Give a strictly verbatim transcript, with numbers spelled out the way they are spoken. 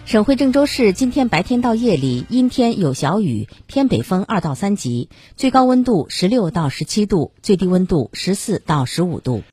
省会郑州市今天白天到夜里阴天有小雨，偏北风二到三级，最高温度十六到十七度，最低温度十四到十五度。